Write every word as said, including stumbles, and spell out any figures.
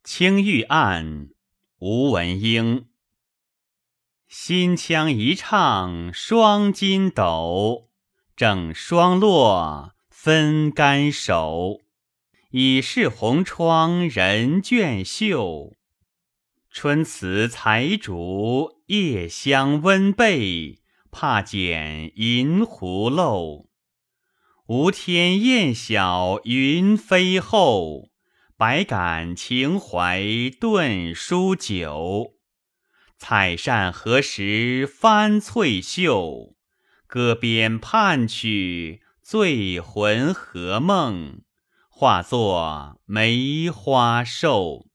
青玉案，吴文英。新腔一唱双金斗，正双落分竿手。已是红窗人倦袖，春词才竹夜香温被，怕剪银狐漏。无天雁晓云飞后，百感情怀顿书酒。采扇何时翻翠袖，歌边盼取醉魂何梦，化作梅花瘦。